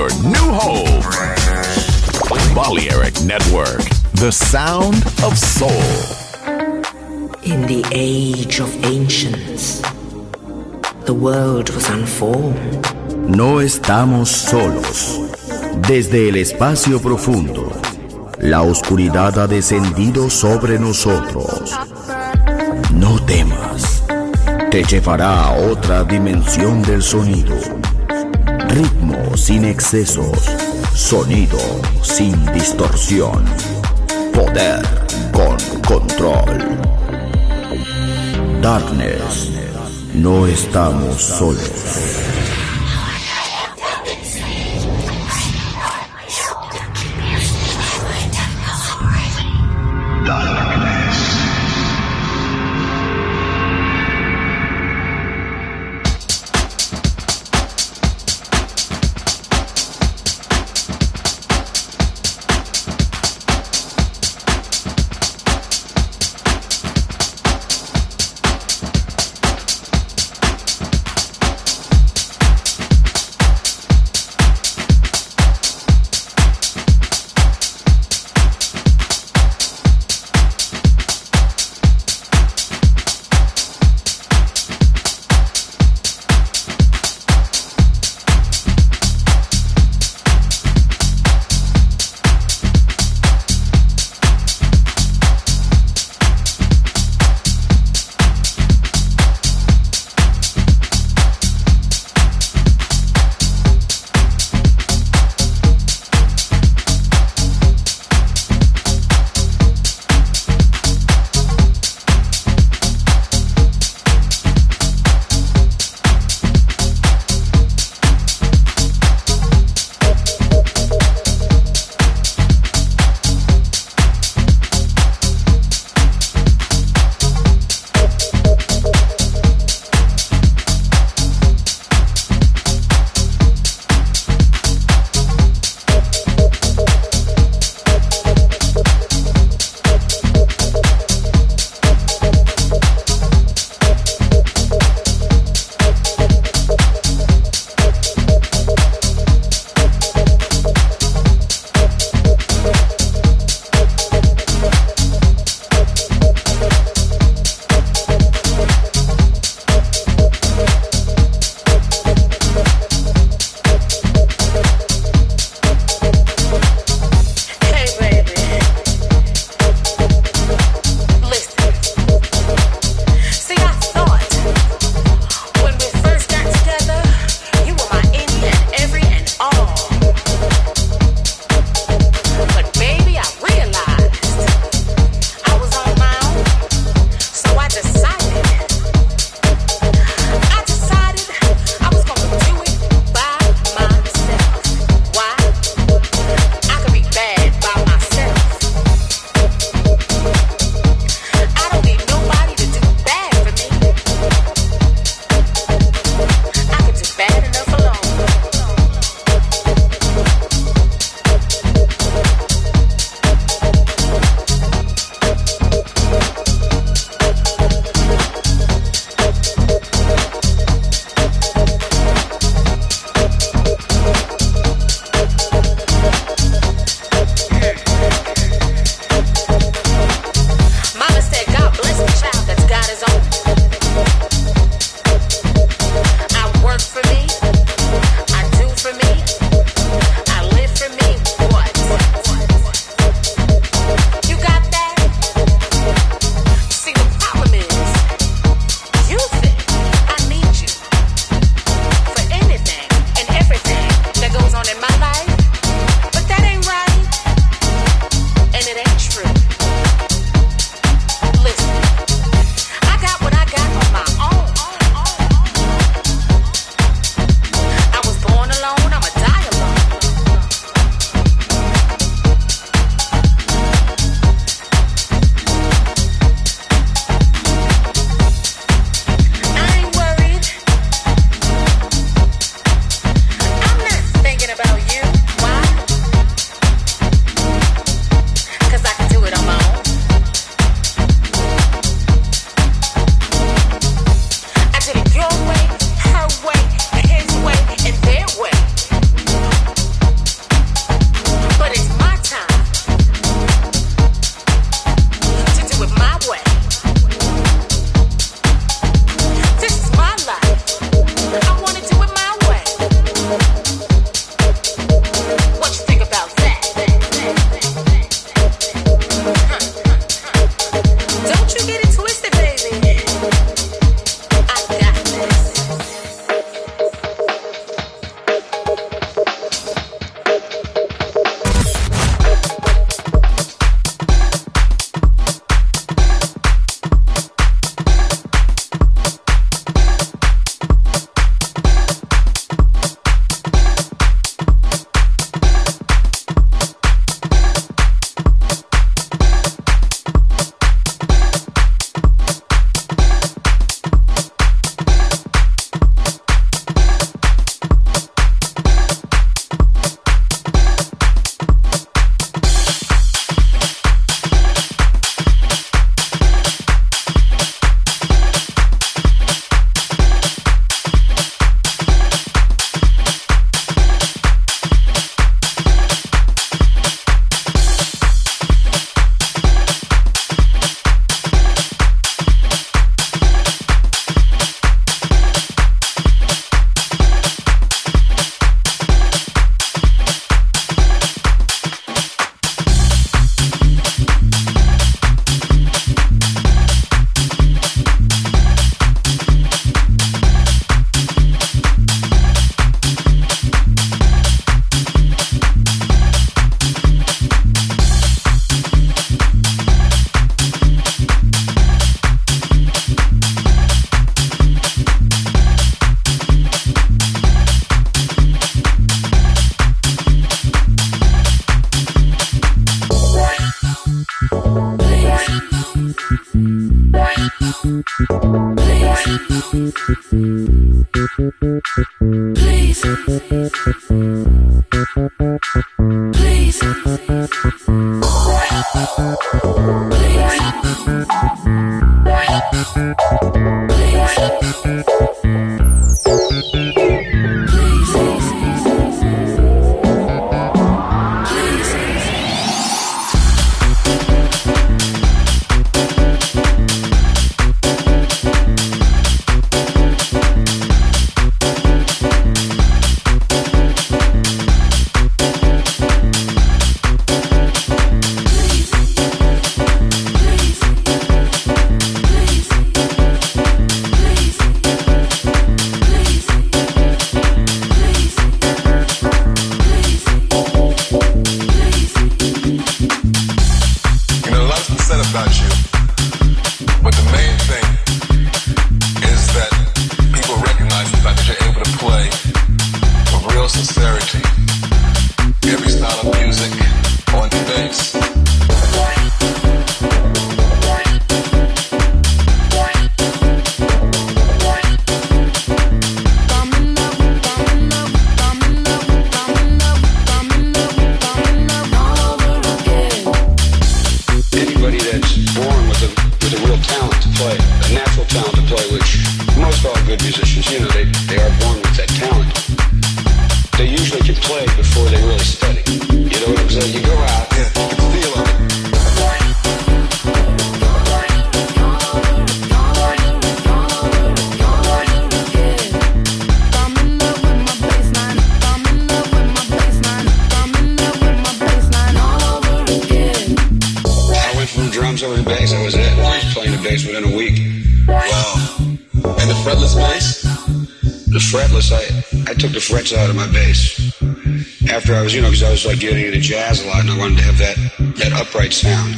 your new home. Balearic Network, the sound of soul. In the age of ancients, the world was unformed. No estamos solos. Desde el espacio profundo, la oscuridad ha descendido sobre nosotros. No temas, te llevará a otra dimensión del sonido. Ritmo sin excesos, sonido sin distorsión, poder con control. Darkness, no estamos solos. Out of my bass after I was, because I was like getting into jazz a lot and I wanted to have that upright sound.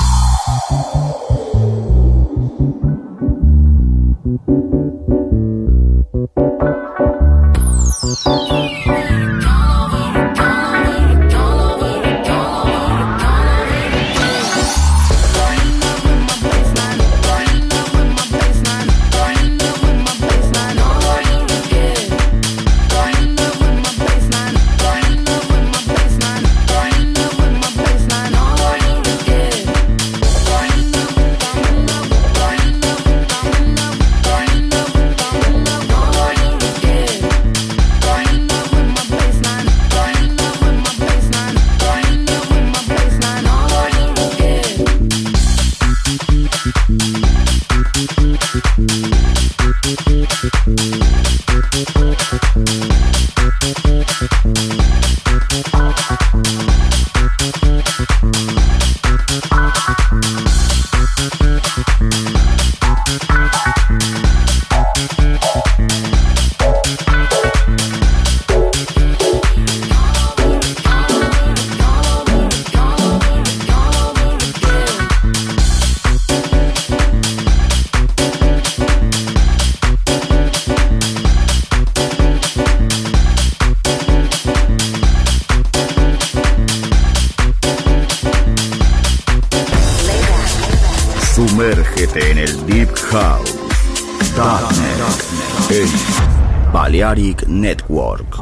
Sumérgete en el Deep House. Darknet en Balearic Network.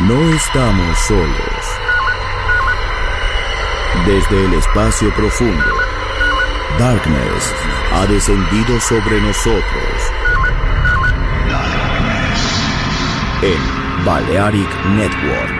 No estamos solos. Desde el espacio profundo, Darkness ha descendido sobre nosotros. En Balearic Network.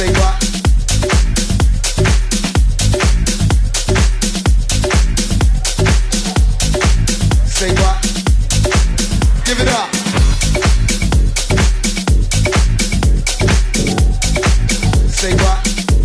Say what? Say what? Give it up. Say what?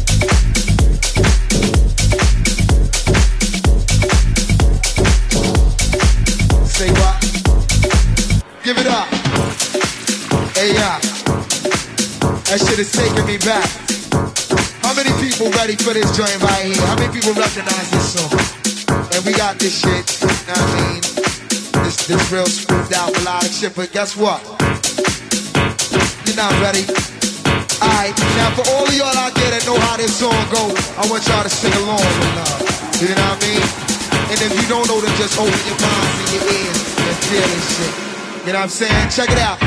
Say what? Give it up. Hey, yeah. That shit is taking me back. How many people ready for this joint right here? How many people recognize this song? And we got this shit, you know what I mean? This real smoothed out melodic shit, but guess what? You're not ready. Alright, now for all of y'all out there that know how this song go, I want y'all to sing along with love. You know what I mean? And if you don't know, then just open your minds and your ears and feel this shit. You know what I'm saying? Check it out.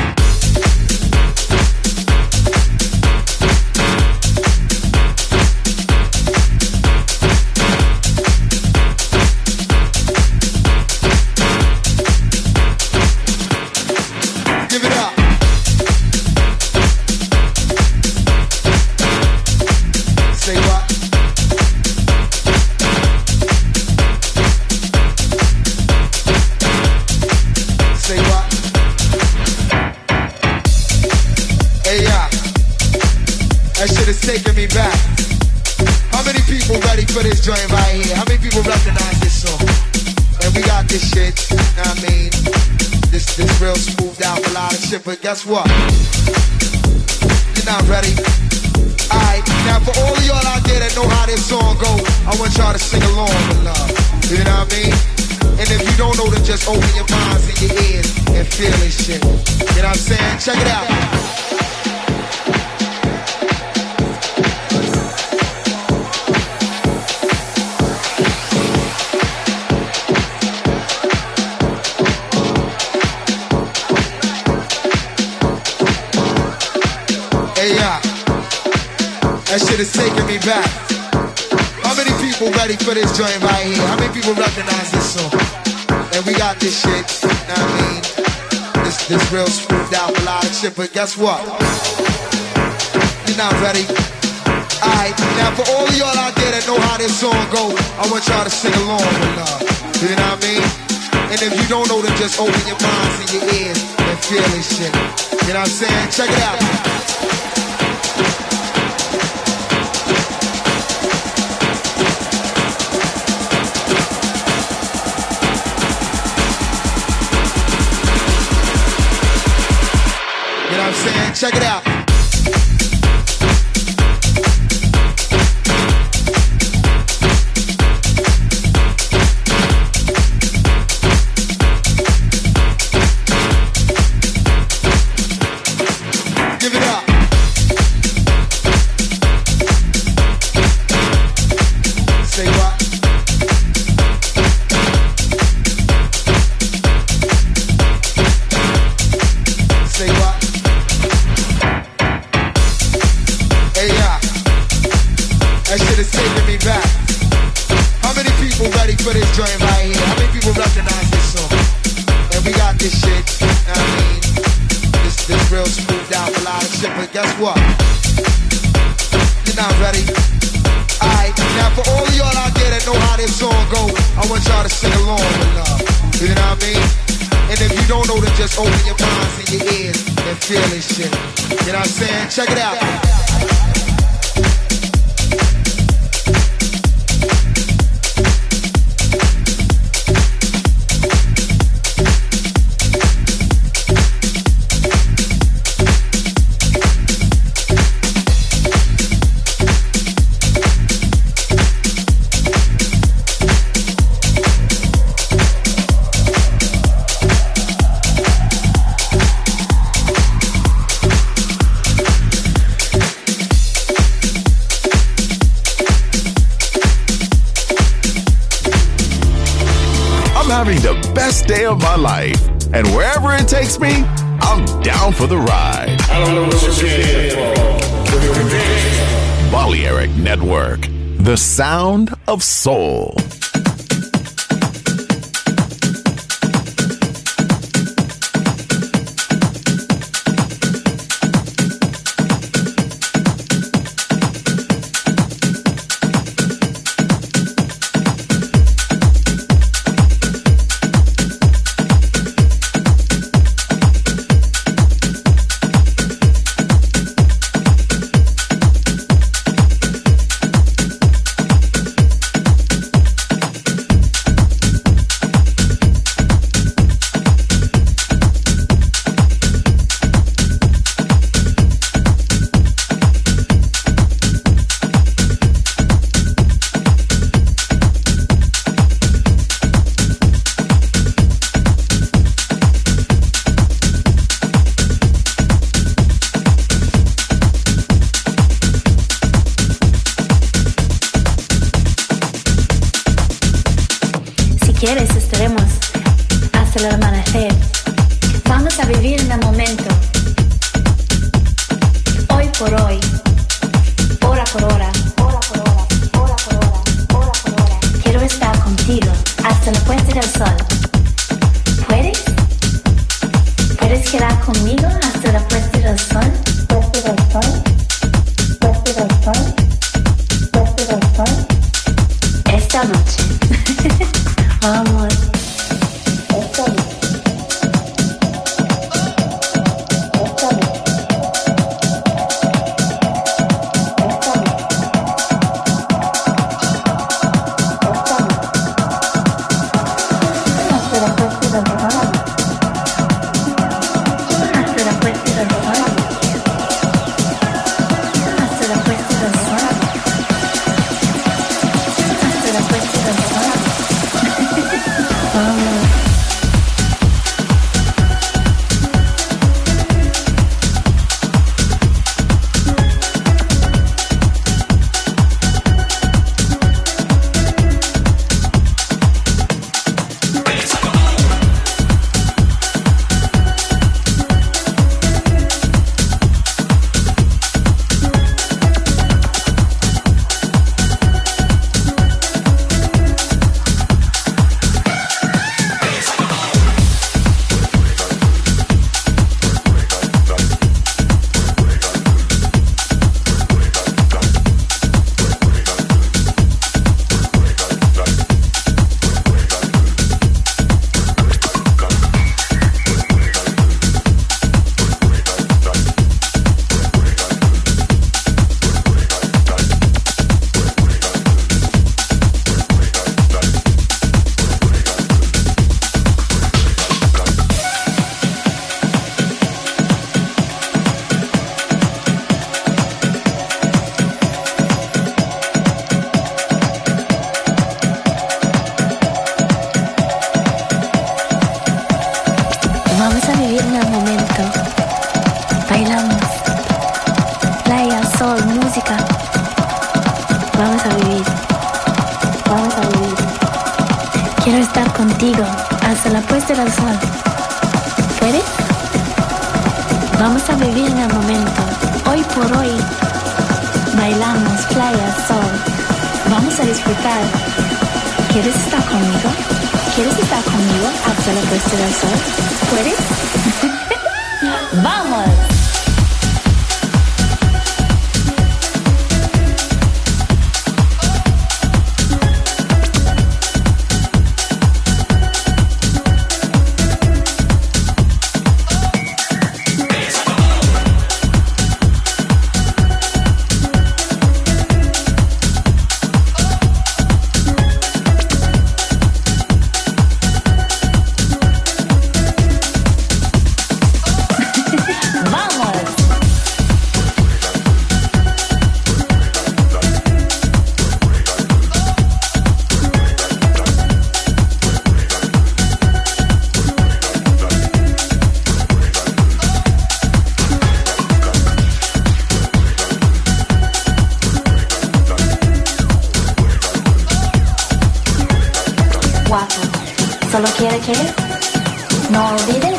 Taking me back. How many people ready for this joint right here? How many people recognize this song? And we got this shit, you know what I mean? This real smoothed out melodic shit, but guess what? You're not ready. Alright, now for all of y'all out there that know how this song go, I want y'all to sing along with love. You know what I mean? And if you don't know, then just open your minds and your ears and feel this shit. You know what I'm saying? Check it out. That shit is taking me back. How many people ready for this joint right here? How many people recognize this song? And we got this shit, you know what I mean? This real smoothed out melodic shit, but guess what? You're not ready. Alright, now for all of y'all out there that know how this song go, I want y'all to sing along with love. You know what I mean? And if you don't know, then just open your minds and your ears and feel this shit. You know what I'm saying? Check it out. Check it out. Give it up. Say what? Say what? That shit is taking me back. How many people ready for this joint right here? How many people recognize this song? And we got this shit, you know what I mean? This real smoothed out melodic shit, but guess what? You're not ready. Alright, now for all of y'all out there that know how this song go, I want y'all to sing along with love. You know what I mean? And if you don't know, then just open your minds and your ears and feel this shit. You know what I'm saying? Check it out. Having the best day of my life. And wherever it takes me, I'm down for the ride. I don't know what you're here for. Balearic Network, the sound of soul. quieres estaremos hasta el amanecer. Vamos a vivir en el momento, hoy por hoy, hora por hora, hora por hora, hora por hora, hora por hora. Quiero estar contigo hasta la puesta del sol. ¿Puedes? ¿Puedes quedar conmigo hasta la puesta del sol? ¿Puesta del sol? ¿Puesta del sol? ¿Puesta del sol? Esta noche. Vamos. Esta noche. Solo quiere que no olvides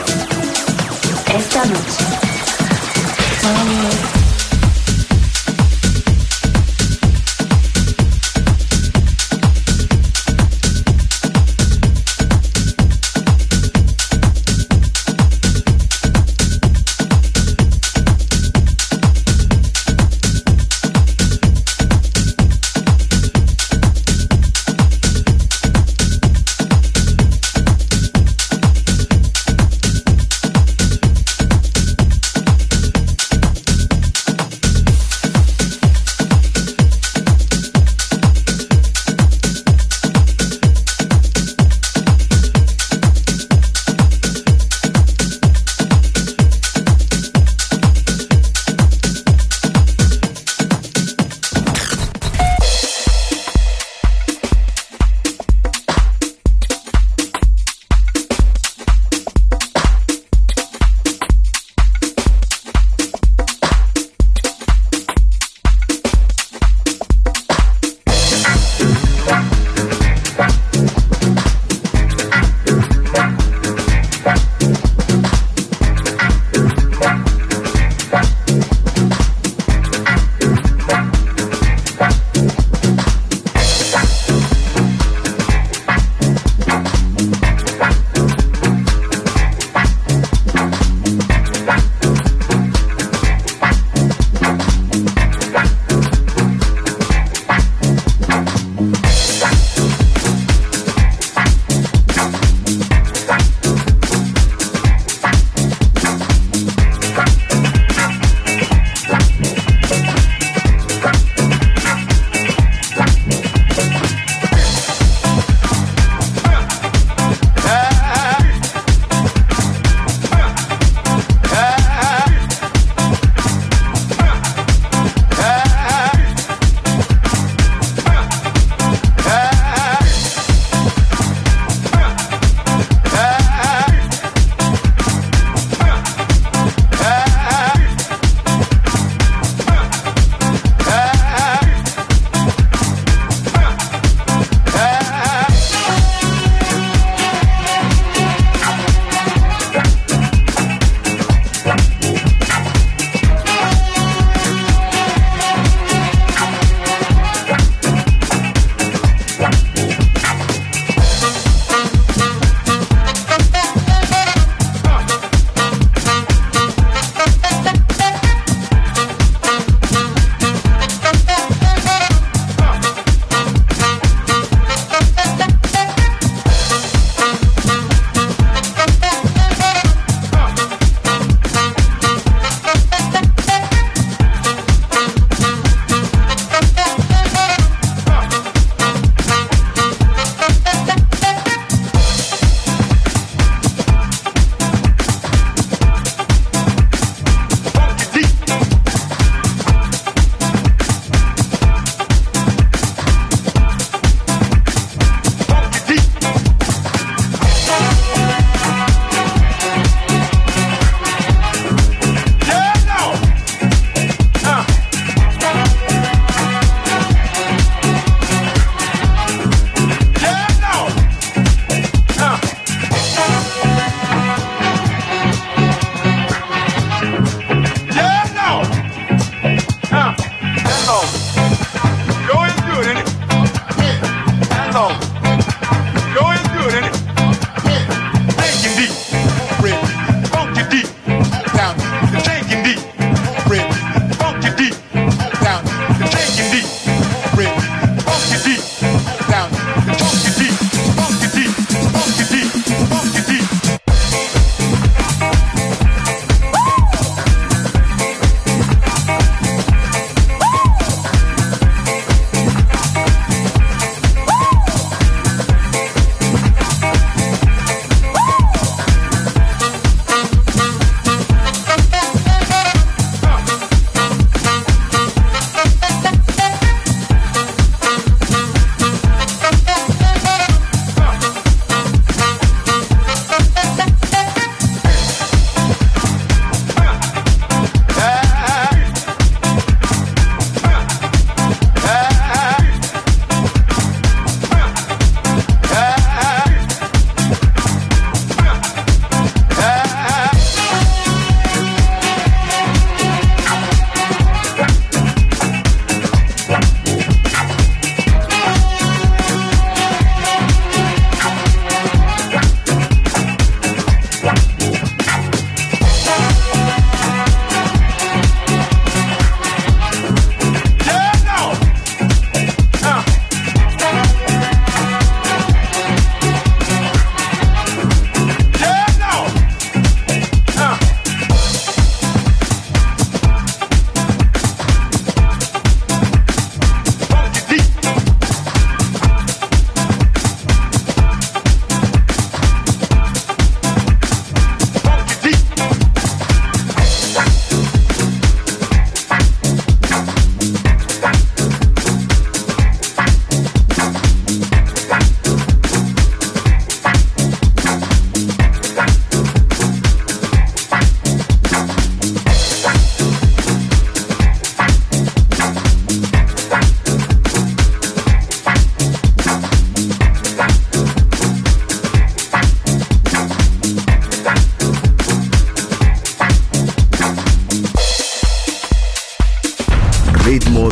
esta noche.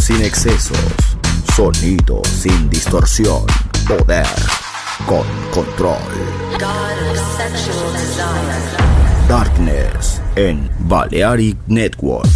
sin excesos, sonido sin distorsión, poder con control. Darkness en Balearic Network.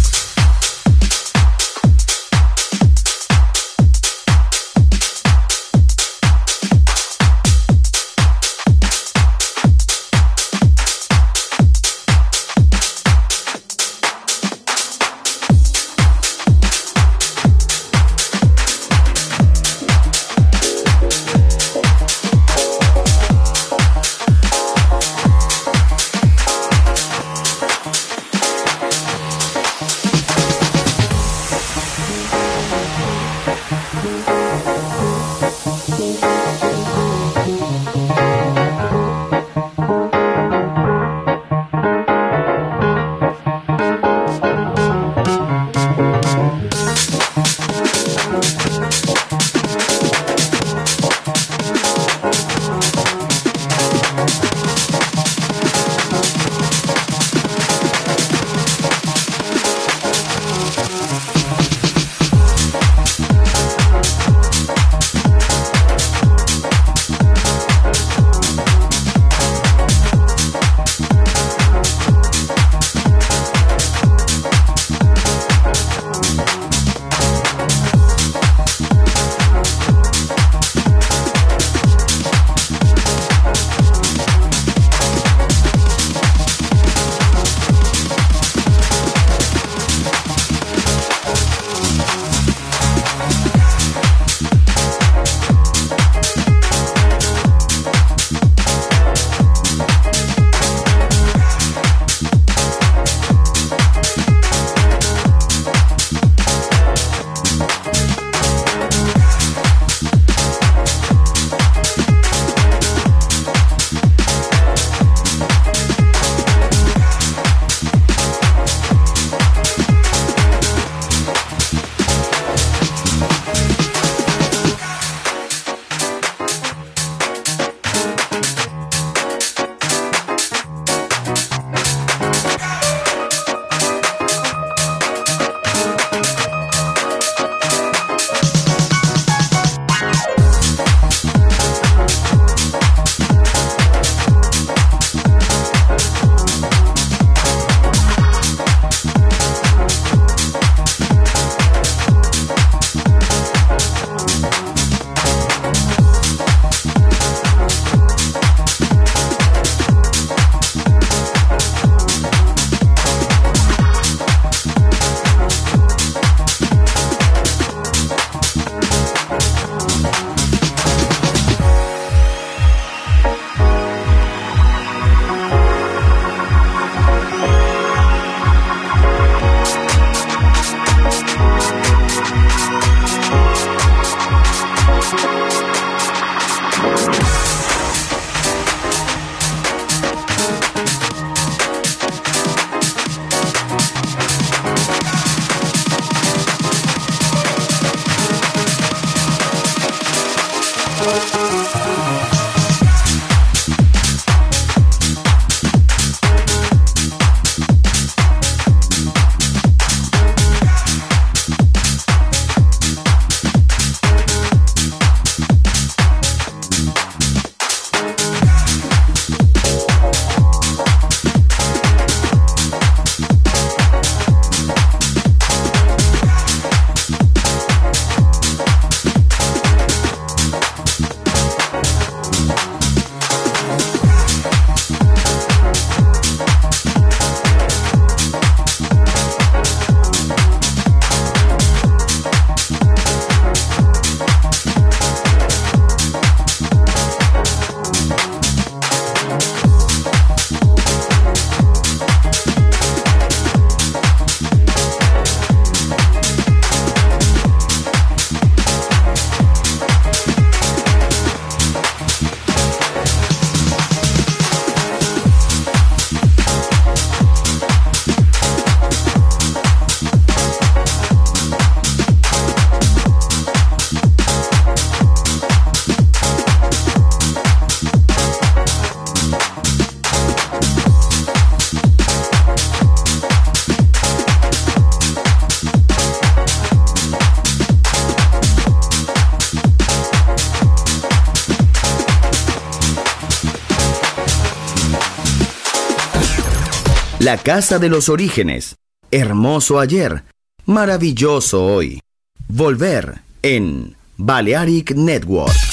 La casa de los orígenes. Hermoso ayer, maravilloso hoy. Volver en Balearic Network.